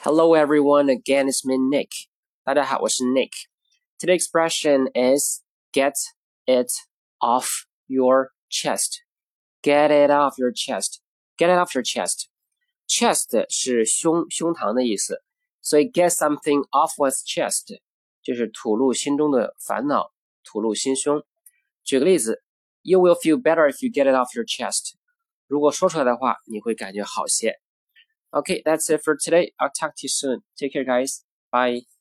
Hello everyone, again it's me Nick. 大家好，我是 Nick. Today's expression is get it off your chest. Get it off your chest. Get it off your chest. Chest 是胸膛的意思，所以 get something off one's chest 就是吐露心中的烦恼，吐露心胸。举个例子 ，You will feel better if you get it off your chest. 如果说出来的话，你会感觉好些。Okay, that's it for today. I'll talk to you soon. Take care, guys. Bye.